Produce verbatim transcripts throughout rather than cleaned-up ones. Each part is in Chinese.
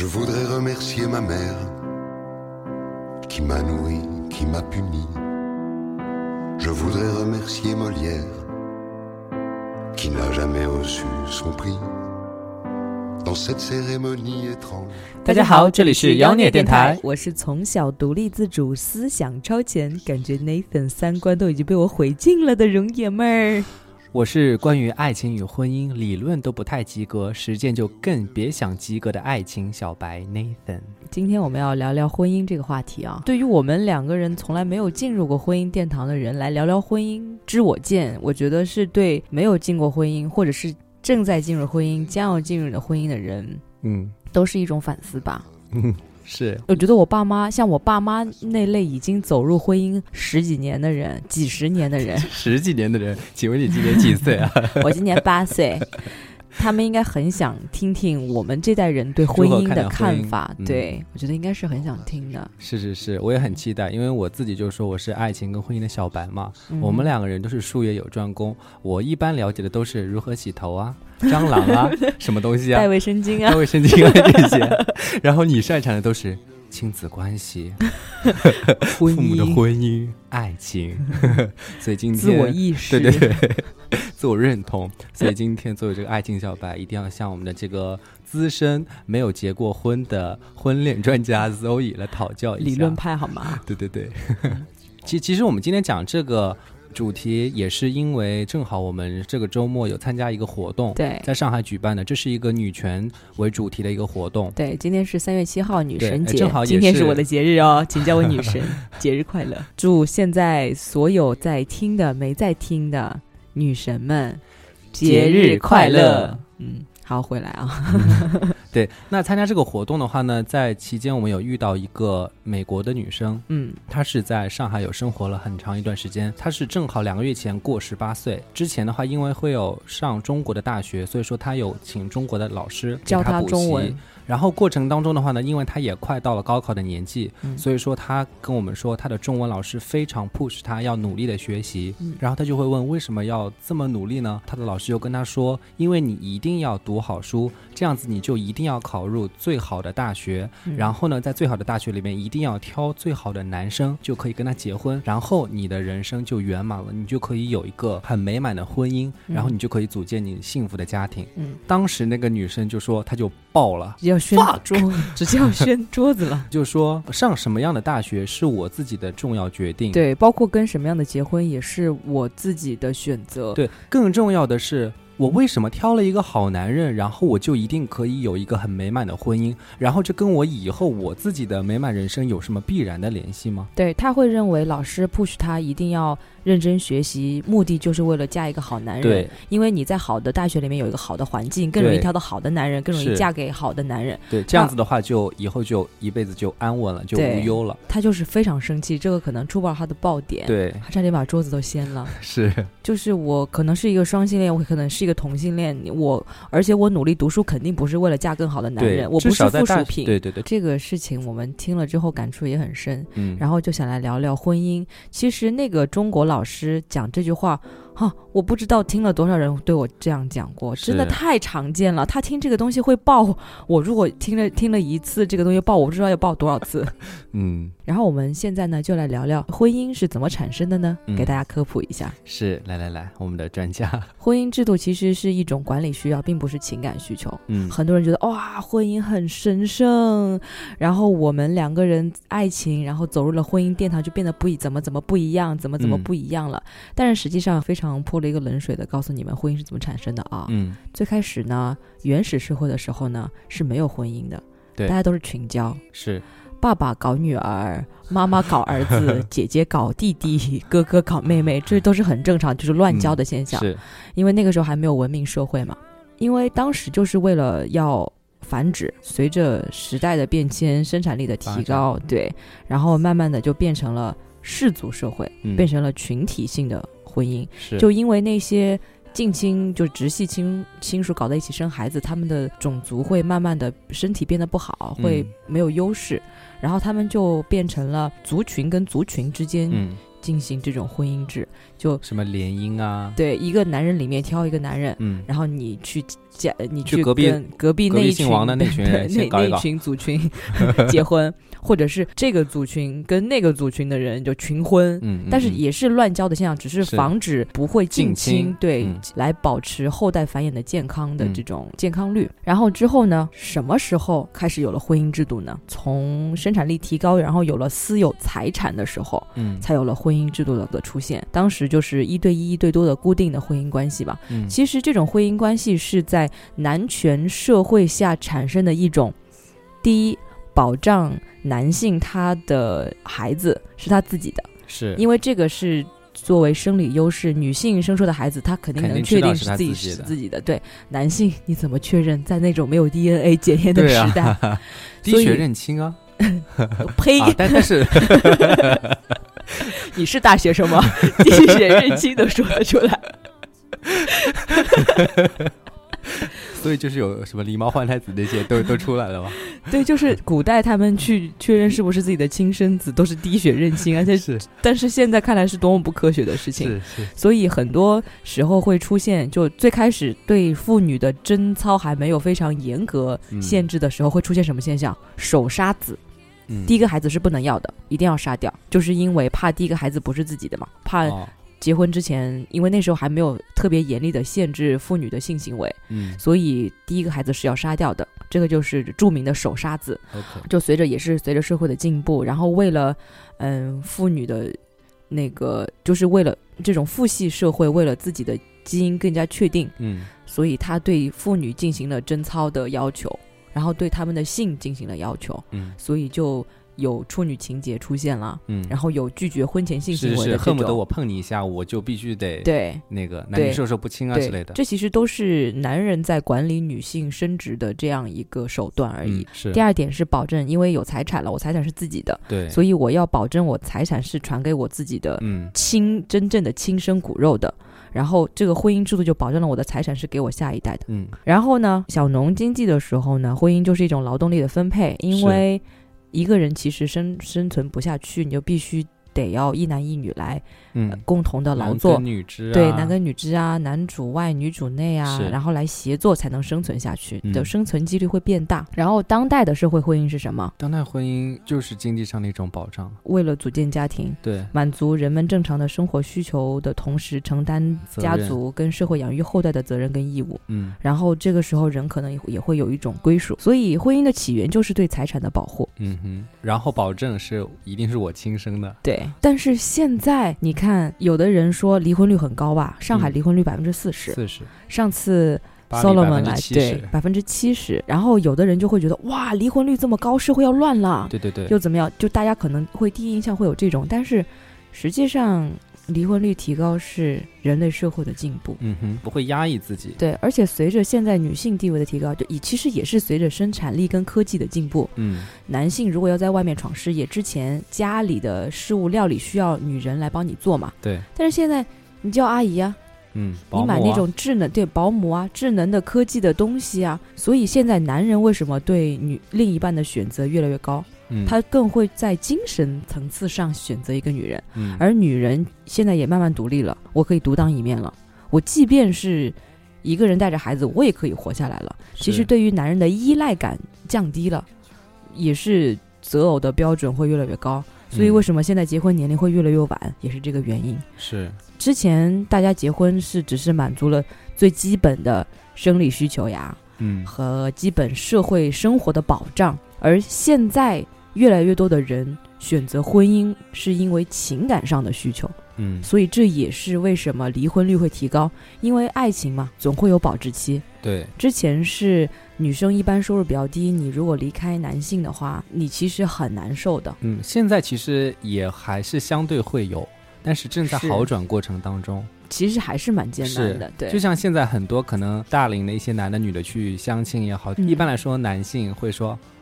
Je voudrais remercier ma mère qui m'a nourri, qui m'a puni. Je voudrais remercier Molière qui n'a jamais reçu son prix.Dans cette cérémonie étrange。 大家好，这里是妖孽电台， 我是从小独立自主、思想超前，感觉 Nathan 三观都已经被我毁尽了的容爷们儿。 我是关于爱情与婚姻理论都不太及格，实践就更别想及格的爱情小白 Nathan。 今天我们要聊聊婚姻这个话题啊。对于我们两个人从来没有进入过婚姻殿堂的人来聊聊婚姻之我见，我觉得是对没有进过婚姻或者是正在进入婚姻将要进入的婚姻的人嗯，都是一种反思吧。 嗯，是。 我觉得我爸妈像我爸妈那类已经走入婚姻十几年的人，几十年的人十几年的人，请问你今年几岁啊？ 我今年八岁。他们应该很想听听我们这代人对婚姻的看法。 嗯、 对，我觉得应该是很想听的。 是是是，我也很期待，因为我自己就说我是爱情跟婚姻的小白嘛、嗯、我们两个人都是术业有专攻，我一般了解的都是如何洗头啊，蟑螂啊什么东西啊， 带卫生巾啊带卫生巾啊这些然后你擅长的都是亲子关系婚姻， 父母的婚姻，爱情所以今天自我意识， 对对对自我认同。所以今天作为这个爱情小白，一定要向我们的这个资深没有结过婚的婚恋专家 Zoe 来讨教一下， 理论派好吗？ 对对对其, 其实我们今天讲这个主题也是因为正好我们这个周末有参加一个活动， 对， 在上海举办的，这是一个女权为主题的一个活动。 对，今天是三月七号女神节， 正好也是今天是我的节日哦，请叫我女神节日快乐。祝现在所有在听的没在听的女神们节日快乐。嗯，好，回来啊对，那参加这个活动的话呢，在期间我们有遇到一个美国的女生，嗯，她是在上海有生活了很长一段时间，她是正好两个月前过十八岁，之前的话因为会有上中国的大学，所以说她有请中国的老师教她中文， 然后过程当中的话呢，因为她也快到了高考的年纪、嗯、所以说她跟我们说她的中文老师非常 push 她要努力的学习、嗯、然后她就会问为什么要这么努力呢？她的老师就跟她说，因为你一定要读好书，这样子你就一定要考入最好的大学、嗯、然后呢在最好的大学里面一定要挑最好的男生，就可以跟他结婚，然后你的人生就圆满了，你就可以有一个很美满的婚姻、嗯、然后你就可以组建你幸福的家庭、嗯、当时那个女生就说她就爆了， 要宣桌直接要宣桌子了就说上什么样的大学是我自己的重要决定， 对，包括跟什么样的结婚也是我自己的选择， 对，更重要的是我为什么挑了一个好男人，然后我就一定可以有一个很美满的婚姻，然后这跟我以后我自己的美满人生有什么必然的联系吗？ 对，他会认为老师 push 他一定要认真学习，目的就是为了嫁一个好男人， 对， 因为你在好的大学里面有一个好的环境，更容易挑到好的男人，更容易嫁给好的男人， 对，这样子的话就以后就一辈子就安稳了，就无忧了。 他就是非常生气，这个可能触爆他的爆点， 对， 他差点把桌子都掀了是， 就是我可能是一个双性恋，我可能是一个同性恋，我而且我努力读书肯定不是为了嫁更好的男人，我不是附属品， 对对对， 这个事情我们听了之后感触也很深，嗯，然后就想来聊聊婚姻。其实那个中国老师讲这句话哈、啊，我不知道听了多少人对我这样讲过，真的太常见了。他听这个东西会爆，我如果听了听了一次这个东西爆，我不知道要爆多少次。嗯，然后我们现在呢就来聊聊婚姻是怎么产生的呢、嗯、给大家科普一下。 是，来来来，我们的专家。 婚姻制度其实是一种管理需要，并不是情感需求。嗯，很多人觉得哇，婚姻很神圣，然后我们两个人爱情，然后走入了婚姻殿堂就变得不怎么怎么不一样，怎么怎么不一样了、嗯、但是实际上非常泼了一个冷水的告诉你们婚姻是怎么产生的啊。嗯，最开始呢，原始社会的时候呢是没有婚姻的，对，大家都是群交， 是爸爸搞女儿，妈妈搞儿子姐姐搞弟弟，哥哥搞妹妹，这都是很正常，就是乱交的现象、嗯、是因为那个时候还没有文明社会嘛，因为当时就是为了要繁殖，随着时代的变迁，生产力的提高，对，然后慢慢的就变成了氏族社会、嗯、变成了群体性的婚姻，就因为那些近亲就直系亲亲属搞在一起生孩子，他们的种族会慢慢的身体变得不好，会没有优势、嗯、然后他们就变成了族群跟族群之间、嗯、 进行这种婚姻制，就什么联姻啊， 对，一个男人里面挑一个男人， 嗯， 然后你去嫁，你去隔壁隔壁那一群王的那群人那那一群族群结婚，或者是这个族群跟那个族群的人就群婚， 嗯，嗯但是也是乱交的现象，只是防止不会近亲，对、嗯，来保持后代繁衍的健康的这种健康率。嗯、然后之后呢，什么时候开始有了婚姻制度呢？从生产力提高，然后有了私有财产的时候，嗯，才有了婚姻制度的出现。当时就是一对一、一对多的固定的婚姻关系吧。嗯，其实这种婚姻关系是在男权社会下产生的一种，第一，保障男性他的孩子是他自己的， 是因为这个是作为生理优势，女性生出的孩子她肯定能确定是自己是自己的，对，男性你怎么确认？在那种没有 D N A 检验的时代， 啊、滴血认亲啊， 呸！ 啊、但但是你是大学生吗？滴血认亲都说得出来。 所以就是有什么狸猫换太子那些都都出来了吗？ 对，就是古代他们去确认是不是自己的亲生子都是滴血认亲，而且是， 但是现在看来是多么不科学的事情。 是是， 所以很多时候会出现，就最开始对妇女的贞操还没有非常严格限制的时候，会出现什么现象？手杀子。嗯、第一个孩子是不能要的，一定要杀掉，就是因为怕第一个孩子不是自己的嘛，怕、哦。结婚之前，因为那时候还没有特别严厉的限制妇女的性行为，嗯，所以第一个孩子是要杀掉的，这个就是著名的手杀子。 Okay. 就随着也是随着社会的进步，然后为了嗯妇女的那个，就是为了这种父系社会，为了自己的基因更加确定，嗯，所以他对妇女进行了贞操的要求，然后对他们的性进行了要求，嗯，所以就。有处女情节出现了，嗯，然后有拒绝婚前性行为的这种， 是是，恨不得我碰你一下，我就必须得对那个男女授受不亲啊之类的。 这其实都是男人在管理女性生殖的这样一个手段而已。 嗯、是。 第二点是保证，因为有财产了，我财产是自己的， 对， 所以我要保证我财产是传给我自己的亲、嗯、真正的亲生骨肉的。然后这个婚姻制度就保证了我的财产是给我下一代的。嗯。然后呢，小农经济的时候呢，婚姻就是一种劳动力的分配，因为。一个人其实生生存不下去，你就必须得要一男一女来、嗯呃、共同的劳作， 男耕女织啊， 对，男耕女织啊，男主外女主内啊，然后来协作才能生存下去，你的生存几率会变大、嗯、然后当代的社会婚姻是什么？ 当代婚姻就是经济上的一种保障， 为了组建家庭， 对， 满足人们正常的生活需求的同时承担家族跟社会养育后代的责任跟义务，嗯，然后这个时候人可能也会有一种归属，所以婚姻的起源就是对财产的保护， 嗯哼，然后保证是一定是我亲生的， 对。但是现在你看，有的人说离婚率很高吧，上海离婚率百分之四十， 四十。上次 Solomon 来对百分之七十，然后有的人就会觉得哇，离婚率这么高，社会要乱了， 对对对， 又怎么样？就大家可能会第一印象会有这种，但是实际上离婚率提高是人类社会的进步， 嗯哼，不会压抑自己， 对，而且随着现在女性地位的提高，就其实也是随着生产力跟科技的进步，嗯，男性如果要在外面闯事业，之前家里的事务料理需要女人来帮你做嘛， 对， 但是现在你叫阿姨啊， 嗯， 你买那种智能对保姆啊，智能的科技的东西啊，所以现在男人为什么对女另一半的选择越来越高？嗯、他更会在精神层次上选择一个女人、嗯、而女人现在也慢慢独立了，我可以独当一面了，我即便是一个人带着孩子我也可以活下来了，其实对于男人的依赖感降低了，也是择偶的标准会越来越高，所以为什么现在结婚年龄会越来越晚，也是这个原因。 是之前大家结婚是只是满足了最基本的生理需求呀，嗯，和基本社会生活的保障，而现在越来越多的人选择婚姻是因为情感上的需求，嗯，所以这也是为什么离婚率会提高，因为爱情嘛，总会有保质期。 对， 之前是女生一般收入比较低，你如果离开男性的话，你其实很难受的。 嗯，现在其实也还是相对会有，但是正在好转过程当中。 其实还是蛮艰难的，对。 就像现在很多可能大龄的一些男的女的去相亲也好、嗯、一般来说男性会说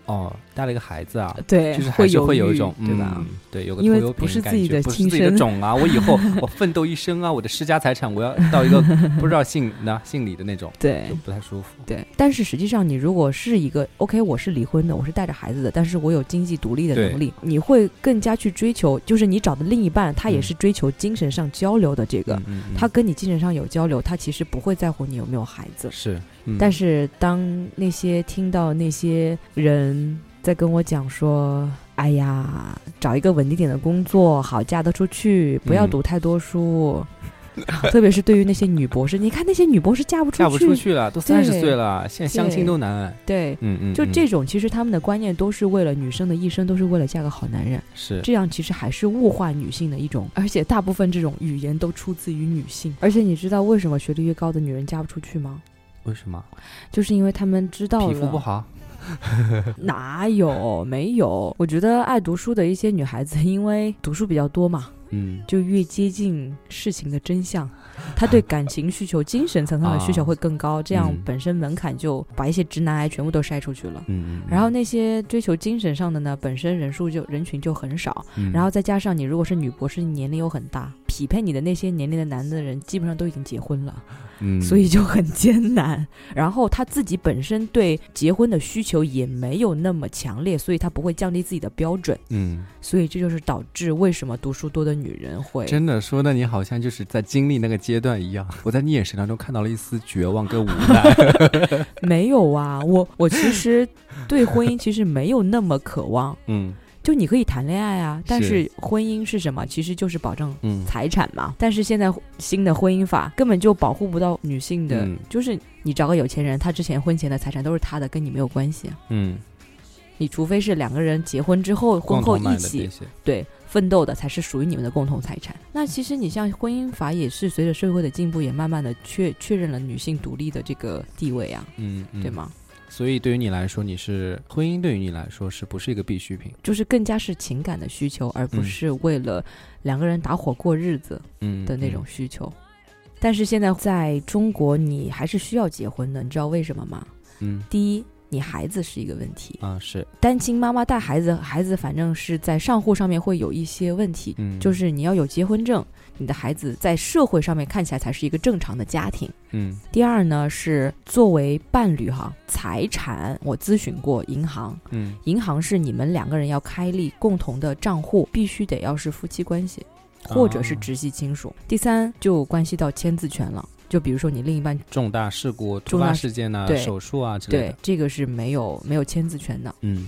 哦，带了一个孩子啊， 对， 就是还是会有一种对吧、 嗯、对，有个拖油瓶因为不是自己的亲生， 不是自己的种啊，我以后我奋斗一生啊，我的世家财产我要到一个不知道姓那姓李的那种， 对， 就不太舒服。 对，但是实际上你如果是一个 OK， 我是离婚的，我是带着孩子的，但是我有经济独立的能力，你会更加去追求，就是你找的另一半他也是追求精神上交流的，这个、嗯嗯嗯、他跟你精神上有交流，他其实不会在乎你有没有孩子。 是、嗯、 但是当那些听到那些人在跟我讲说，哎呀，找一个稳定点的工作，好嫁得出去，不要读太多书、嗯、特别是对于那些女博士，你看那些女博士嫁不出去， 嫁不出去了，都三十岁了，现在相亲都难。 对，嗯嗯，就这种，其实他们的观念都是为了女生的一生都是为了嫁个好男人， 是这样，其实还是物化女性的一种，而且大部分这种语言都出自于女性。而且你知道为什么学历越高的女人嫁不出去吗？ 为什么？ 就是因为他们知道了皮肤不好。 哪有，没有，我觉得爱读书的一些女孩子因为读书比较多嘛，嗯，就越接近事情的真相，她对感情需求精神层上的需求会更高、啊、这样本身门槛就把一些直男癌全部都筛出去了，嗯，然后那些追求精神上的呢，本身人数就人群就很少、嗯、然后再加上你如果是女博士，年龄又很大，匹配你的那些年龄的男的人基本上都已经结婚了，嗯，所以就很艰难。然后他自己本身对结婚的需求也没有那么强烈，所以他不会降低自己的标准，嗯，所以这就是导致为什么读书多的女人会真的说的你好像就是在经历那个阶段一样，我在你眼神当中看到了一丝绝望跟无奈。 没有啊，我我其实对婚姻其实没有那么渴望，嗯。就你可以谈恋爱啊，但是婚姻是什么？其实就是保证财产嘛、嗯、但是现在新的婚姻法根本就保护不到女性的、嗯、就是你找个有钱人，他之前婚前的财产都是他的，跟你没有关系，嗯，你除非是两个人结婚之后婚后一起对奋斗的，才是属于你们的共同财产。那其实你像婚姻法也是随着社会的进步，也慢慢的确确认了女性独立的这个地位啊，嗯，对吗？ 所以对于你来说，你是婚姻对于你来说是不是一个必需品？ 就是更加是情感的需求，而不是为了两个人打伙过日子的那种需求、嗯嗯、但是现在在中国你还是需要结婚的，你知道为什么吗？嗯，第一，你孩子是一个问题啊，是单亲妈妈带孩子，孩子反正是在上户上面会有一些问题、嗯、就是你要有结婚证，你的孩子在社会上面看起来才是一个正常的家庭。嗯，第二呢是作为伴侣哈，财产我咨询过银行，嗯，银行是你们两个人要开立共同的账户，必须得要是夫妻关系或者是直系亲属、哦、第三就关系到签字权了，就比如说你另一半重大事故突发事件啊，手术啊之类的， 对，这个是没有没有签字权的。嗯，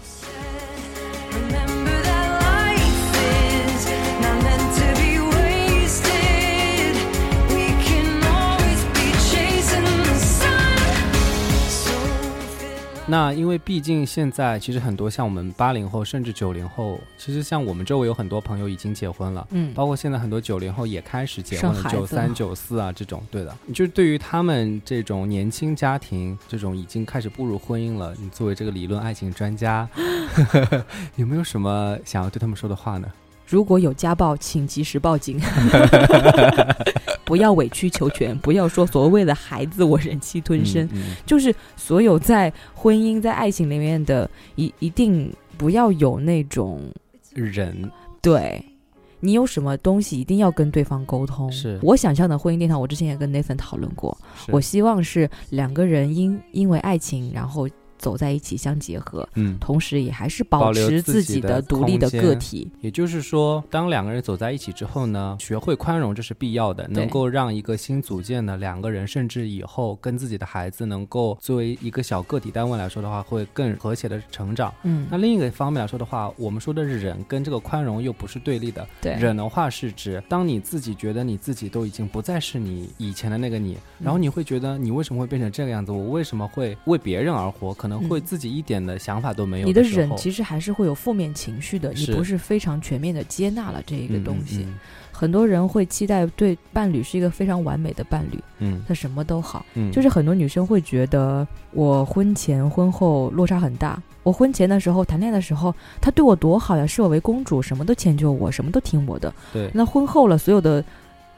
那因为毕竟现在其实很多像我们八零后甚至九零后，其实像我们周围有很多朋友已经结婚了，嗯，包括现在很多九零后也开始结婚了，九三九四啊这种，对的。就是对于他们这种年轻家庭，这种已经开始步入婚姻了，你作为这个理论爱情专家有没有什么想要对他们说的话呢？ 如果有家暴请及时报警不要委曲求全，不要说所谓的孩子我忍气吞声、嗯嗯、就是所有在婚姻在爱情里面的一一定不要有那种忍， 对，你有什么东西一定要跟对方沟通。 是我想象的婚姻殿堂，我之前也跟 Nathan 讨论过，我希望是两个人因因为爱情然后走在一起相结合，嗯，同时也还是保持自己的独立的个体。 也就是说，当两个人走在一起之后呢，学会宽容这是必要的，能够让一个新组建的两个人，甚至以后跟自己的孩子能够作为一个小个体单位来说的话，会更和谐的成长。嗯，那另一个方面来说的话，我们说的忍跟这个宽容又不是对立的。 对， 忍的话是指当你自己觉得你自己都已经不再是你以前的那个你，然后你会觉得你为什么会变成这个样子，我为什么会为别人而活，可能会自己一点的想法都没有的， 你的忍其实还是会有负面情绪的，你不是非常全面的接纳了这一个东西。嗯嗯，很多人会期待对伴侣是一个非常完美的伴侣，嗯，他什么都好，嗯，就是很多女生会觉得我婚前婚后落差很大，我婚前的时候谈恋爱的时候他对我多好呀，视我为公主，什么都迁就我，什么都听我的， 对， 那婚后了所有的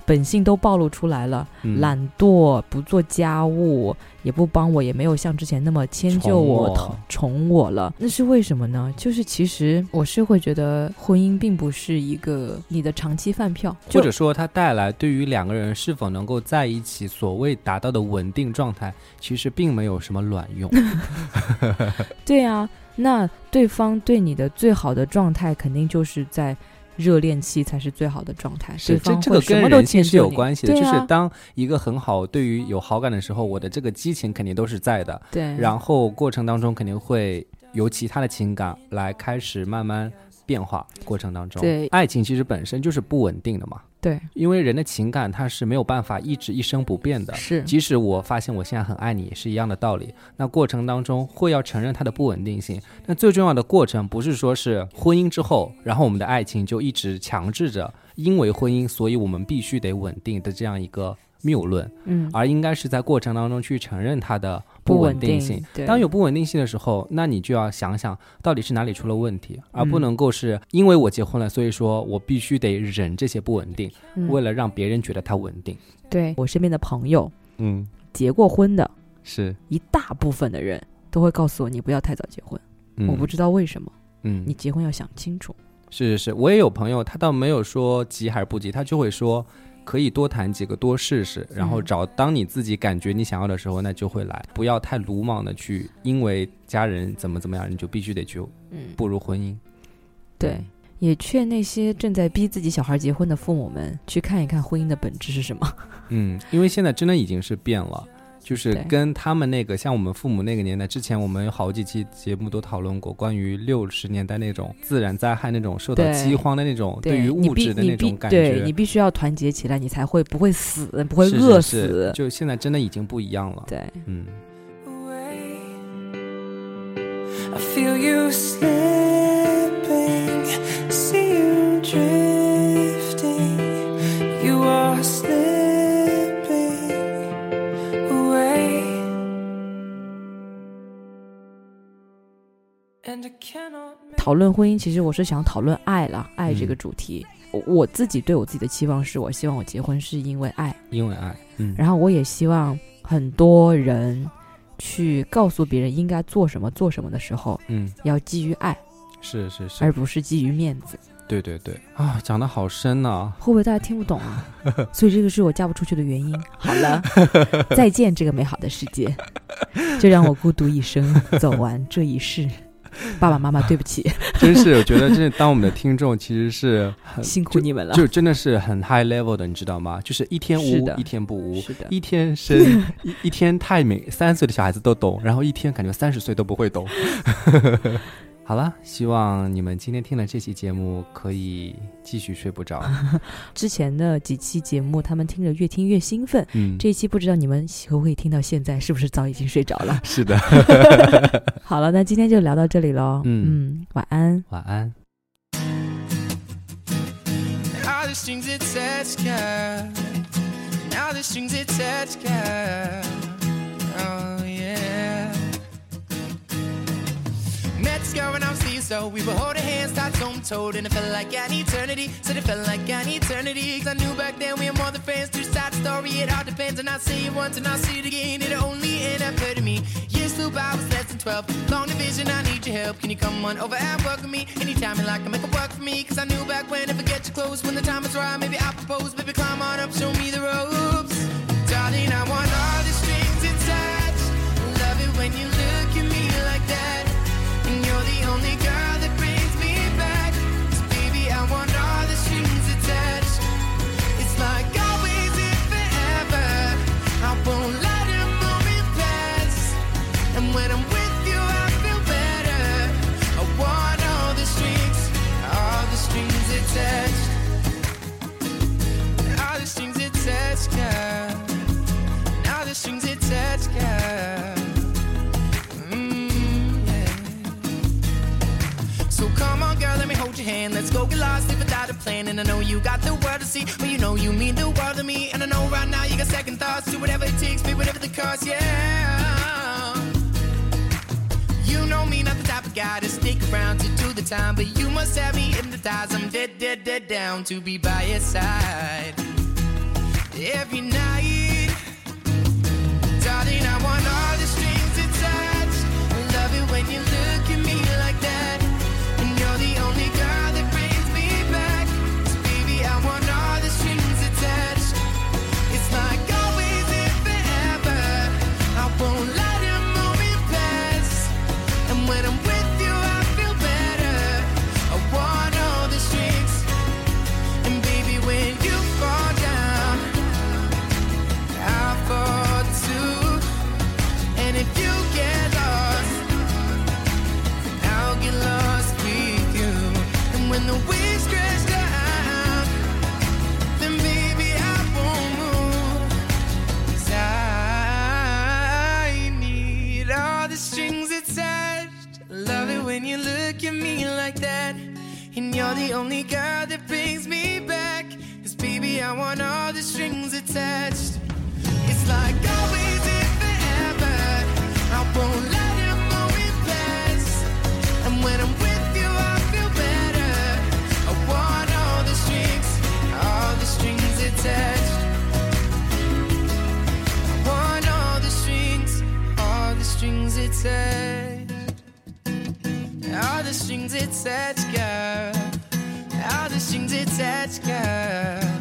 本性都暴露出来了、嗯、懒惰，不做家务，也不帮我，也没有像之前那么迁就我宠 我, 宠我了。那是为什么呢？就是其实我是会觉得婚姻并不是一个你的长期饭票， 或者说它带来对于两个人是否能够在一起所谓达到的稳定状态，其实并没有什么卵用。 对啊，那对方对你的最好的状态肯定就是在热恋期才是最好的状态， 是这这个跟人性是有关系的、啊、就是当一个很好对于有好感的时候，我的这个激情肯定都是在的， 对， 然后过程当中肯定会由其他的情感来开始慢慢变化，过程当中对， 爱情其实本身就是不稳定的嘛， 对， 因为人的情感它是没有办法一直一生不变的， 是， 即使我发现我现在很爱你也是一样的道理，那过程当中会要承认它的不稳定性。那最重要的过程不是说是婚姻之后然后我们的爱情就一直强制着因为婚姻所以我们必须得稳定的这样一个谬论，嗯，而应该是在过程当中去承认它的不稳定性。当有不稳定性的时候，那你就要想想到底是哪里出了问题，而不能够是因为我结婚了所以说我必须得忍这些不稳定、嗯、为了让别人觉得它稳定。 对，我身边的朋友嗯， 结过婚的是一大部分的人都会告诉我你不要太早结婚、嗯、我不知道为什么，嗯，你结婚要想清楚。 是是是，我也有朋友他倒没有说急还是不急，他就会说可以多谈几个多试试，然后找当你自己感觉你想要的时候那就会来，不要太鲁莽的去因为家人怎么怎么样你就必须得去步入婚姻、嗯、 对，也劝那些正在逼自己小孩结婚的父母们去看一看婚姻的本质是什么。 嗯，因为现在真的已经是变了，就是跟他们那个像我们父母那个年代，之前我们有好几期节目都讨论过关于六十年代那种自然灾害那种受到饥荒的那种 对, 对于物质的那种感觉， 对，你必须要团结起来你才会不会死不会饿死， 是是是，就现在真的已经不一样了。 对， 嗯。 I feel you slipping, see you drifting, you are slipping away, and I cannot。 讨论婚姻其实我是想讨论爱啦，爱这个主题、嗯、我自己对我自己的期望是我希望我结婚是因为爱， 因为爱、嗯、 然后我也希望很多人去告诉别人应该做什么做什么的时候，嗯，要基于爱， 是是是， 而不是基于面子。 对对对啊，讲得好深啊， 会不会大家听不懂啊？所以这个是我嫁不出去的原因。好了，再见这个美好的世界，就让我孤独一生走完这一世。爸爸妈妈对不起。 真是我觉得真的当我们的听众其实是很辛苦你们了， 就, 就真的是很 high level 的，你知道吗？就是一天无一天不无， 是的， 一天生一, 一天太美，三岁的小孩子都懂，然后一天感觉三十岁都不会懂。好了，希望你们今天听了这期节目可以继续睡不着。 之前的几期节目他们听着越听越兴奋、嗯、这一期不知道你们可不可以听到现在，是不是早已经睡着了？ 是的。 好了，那今天就聊到这里咯。 嗯, 嗯晚安晚安。 Now the strings attached, girl. Now the strings attached, girl. Oh yeah. Met this girl when I was three years old. We were holding hands, tied home told, and it felt like an eternity. Said it felt like an eternity, cause I knew back then we were more than friends. Two side story, it all depends. And I say it once and I see it again. It only end up hurting me. Years flew by, I was less than twelve. Long division, I need your help. Can you come on over and work with me? Anytime you like, I make it work for me. Cause I knew back when, if I get you close, when the time is right, maybe I'll propose. Baby, climb on up, show me the ropes. Darling, I want all the strings attached. Love it when you look at me like that. And you're the only girl that brings me back. So baby, I want all the strings attached. It's like always and forever. I won't let a moment pass. And when I'm with you, I feel better. I want all the strings, all the strings attached. All the strings attached, girl. All the strings attached, girl. So come on girl, let me hold your hand. Let's go get lost, live without a plan. And I know you got the world to see, but you know you mean the world to me. And I know right now you got second thoughts. Do whatever it takes, pay whatever the cost, yeah. You know me, not the type of guy to stick around to do the time, but you must have me hypnotized. I'm dead, dead, dead down to be by your side. every night. Darling, I want all the strings attached. I love it when you look at me like that. And you're the only girl that brings me back. So baby, I want all the strings attached. It's like always and forever. I won't let a moment pass. And when I'm with you, I feel better. I want all the strings. And baby, when you fall down, I fall too. And if you get lost, I'll get lost with you. And when the waves crash down, then baby, I won't move. 'Cause I need all the strings attached. I love it when you look at me like that. And you're the only girl that brings me back. 'Cause baby, I want all the strings attached. It's like always and forever. I won't let a moment pass. And when I'm with you, I feel better. I want all the strings, all the strings attached. I want all the strings, all the strings attached. All the strings attached, girl. All the strings attached, girl.